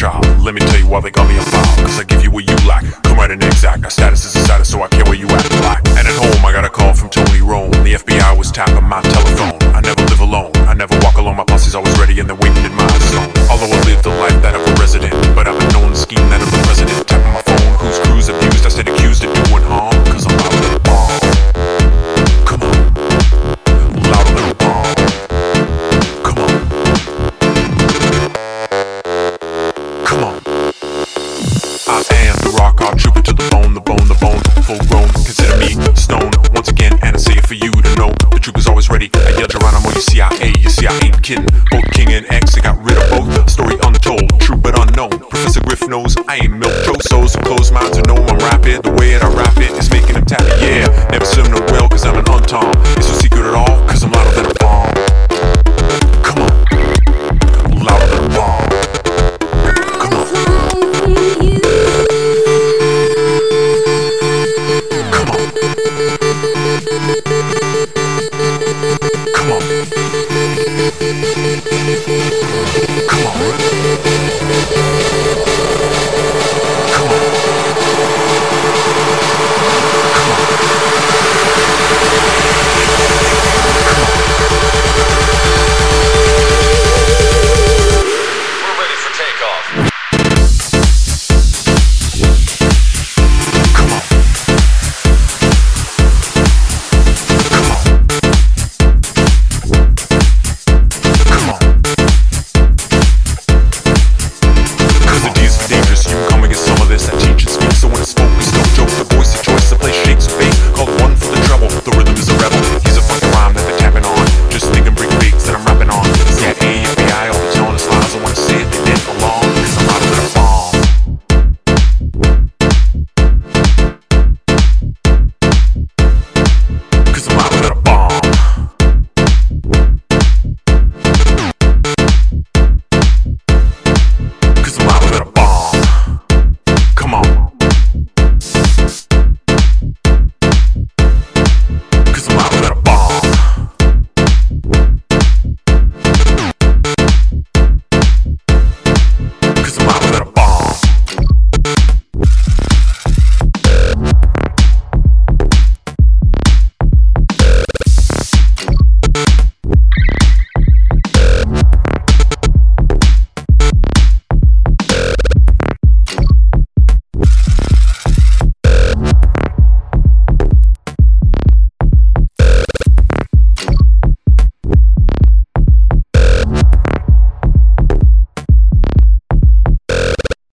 child. Let me tell you why they got me on file. Cause I give you what you lack. Come right and exact. Our status is a status, so I care where you at. Black. And at home, I got a call from Tony Rome. The FBI was tapping my telephone. I never live alone. I never walk alone. My posse's always ready and they're waiting in my zone. Although I live the life that of a resident, but I've been known to scheme that of the president. Tapping my phone, whose crew's abused. I stayed accused of doing harm. Cause I'm louder than a bomb. Come on. Louder than a bomb. Come on. Come on. I am the rock, I'll troop it to the bone, the bone, the bone, full grown. Consider me stone once again, and I say it for you to know. The troop is always ready. I yell Geronimo, you see I ain't kidding. Both King and X, I got rid of both. Story untold, true but unknown. Professor Griff knows I ain't milk so